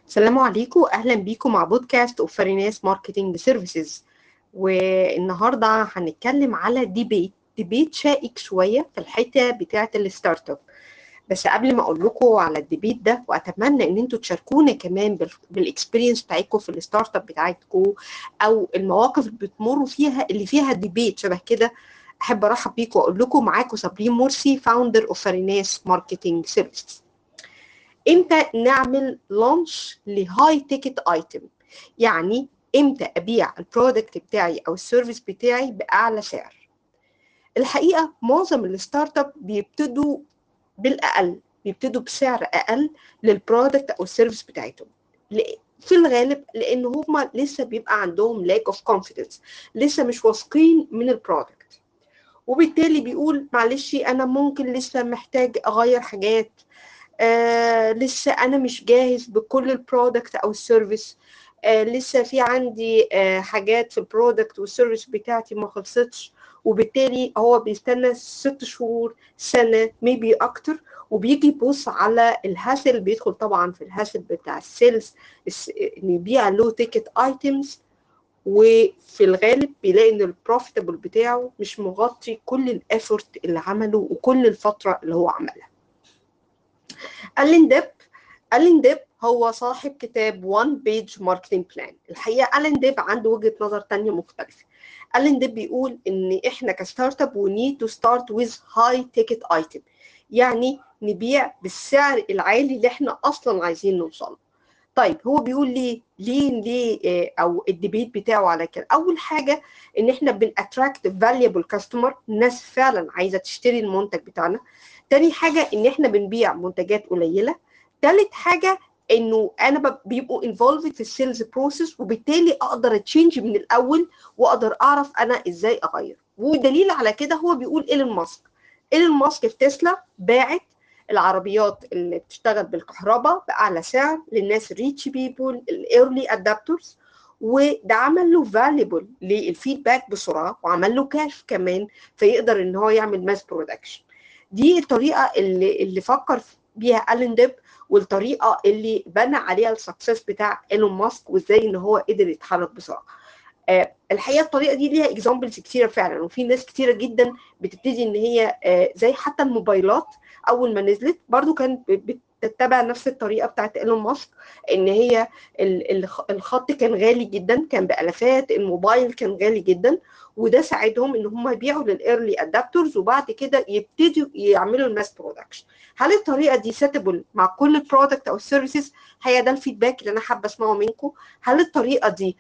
السلام عليكم، اهلا بيكم مع بودكاست اوف فريناس ماركتنج سيرفيسز. والنهارده هنتكلم على ديبيت شائك شويه في الحته بتاعه الستارت اب. بس قبل ما اقول لكم على الديبيت ده، واتمنى ان انتوا تشاركونا كمان بالاكسبيرينس بتاعتكم في الستارت اب بتاعتكم او المواقف اللي بتمروا فيها اللي فيها ديبيت شبه كده. احب ارحب بيكم واقول لكم معاكم صابرين مرسي، فاوندر اوف فريناس ماركتنج سيرفيسز. امتى نعمل لانش لهاي تيكت ايتم؟ يعني امتى ابيع البرودكت بتاعي او السيرفيس بتاعي باعلى سعر؟ الحقيقه معظم الستارت اب بيبتدوا بالاقل، بيبتدوا بسعر اقل للبرودكت او السيرفيس بتاعتهم، في الغالب لان هم لسه بيبقى عندهم lack of confidence، لسه مش واثقين من البرودكت، وبالتالي بيقول معلش انا ممكن لسه محتاج اغير حاجات، لسه انا مش جاهز بكل البرودكت او السيرفيس، لسه في عندي حاجات في البرودكت والسيرفيس بتاعتي ما خلصتش، وبالتالي هو بيستنى 6 شهور، سنه، ميبي اكتر، وبيجي يبص على الهاسل، بيدخل طبعا في الهاسل بتاع السيلز ان يبيع لو تيكت ايتمز، وفي الغالب بيلاقي ان البروفيتابل بتاعه مش مغطي كل الافورت اللي عمله وكل الفتره اللي هو عملها. ألين ديب هو صاحب كتاب One Page Marketing Plan. الحقيقة ألين ديب عنده وجهة نظر تانية مختلفة. ألين ديب بيقول إن إحنا كستارت اب we need to start with high ticket item، يعني نبيع بالسعر العالي اللي إحنا أصلا عايزين نوصله. طيب هو بيقول ليه او الديبيت بتاعه على كده؟ اول حاجه ان احنا بناتراكت فاليبل كاستمر، الناس فعلا عايزه تشتري المنتج بتاعنا. تاني حاجه ان احنا بنبيع منتجات قليله. تالت حاجه انه انا بيبقوا انفولفد في السيلز بروسيس، وبالتالي اقدر اتشينج من الاول واقدر اعرف انا ازاي اغير. ودليل على كده هو بيقول ايلون ماسك في تسلا باعت العربيات اللي بتشتغل بالكهرباء بأعلى سعر للناس الريتش بيبول الايرلي ادابترز، وده عمل له فاليبل للفيدباك بسرعه، وعمل له كاش كمان فيقدر ان هو يعمل ماس برودكشن. دي الطريقه اللي فكر بيها ألين ديب، والطريقه اللي بنى عليها السكسس بتاع ايلون ماسك، وازاي ان هو قدر يتحرك بسرعه. الحقيقه الطريقه دي ليها اكزامبلز كتيره فعلا، وفي ناس كتيره جدا بتبتدي ان هي زي حتى الموبايلات اول ما نزلت برضو كانت بتتبع نفس الطريقه بتاعت ايلون ماسك، ان هي الخط كان غالي جدا، كان بالافات، الموبايل كان غالي جدا، وده ساعدهم ان هم يبيعوا للايرلي ادابترز، وبعد كده يبتدوا يعملوا الماس برودكشن. هل الطريقه دي سيتبل مع كل البرودكت او السيرفيسز؟ هي ده الفيدباك اللي انا حابه اسمعه منكم. هل الطريقه دي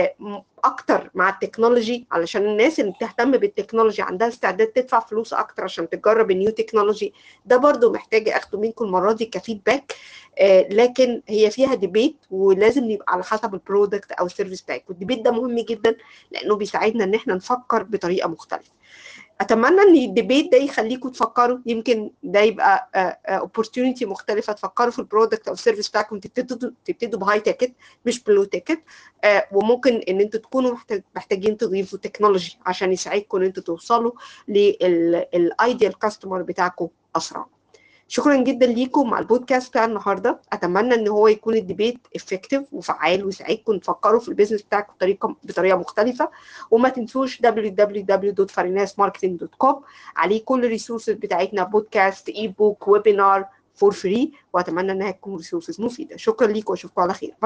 اكتر مع التكنولوجي، علشان الناس اللي بتهتم بالتكنولوجي عندها استعداد تدفع فلوس اكتر عشان تجرب النيو تكنولوجي؟ ده برضو محتاجه اخده منكم المره دي كفيدباك. لكن هي فيها ديبيت، ولازم يبقى على حسب البرودكت او السيرفيس بتاعك، والديبيت ده مهم جدا لانه بيساعدنا ان احنا نفكر بطريقه مختلفه. اتمنى ان الديبيت ده يخليكم تفكروا، يمكن ده يبقى opportunity مختلفه تفكروا في البرودكت او السيرفيس بتاعكم، تبتدوا بهاي تيكت مش بلو تيكت. وممكن ان انتوا تكونوا محتاجين تضيفوا تكنولوجي عشان يساعدكم ان انتوا توصلوا للايديال كاستمر بتاعكم اسرع. شكرا جدا ليكم مع البودكاست بتاع النهارده. اتمنى ان هو يكون الديبيت افكتيف وفعال ويساعدكم تفكروا في البيزنس بتاعكم بطريقه مختلفه. وما تنسوش www.farinasmarketing.com، عليه كل الريسورسز بتاعتنا، بودكاست، اي بوك، ويبينار فور فري، واتمنى انها تكون ريسورسز مفيده. شكرا ليكم واشوفكم على خير.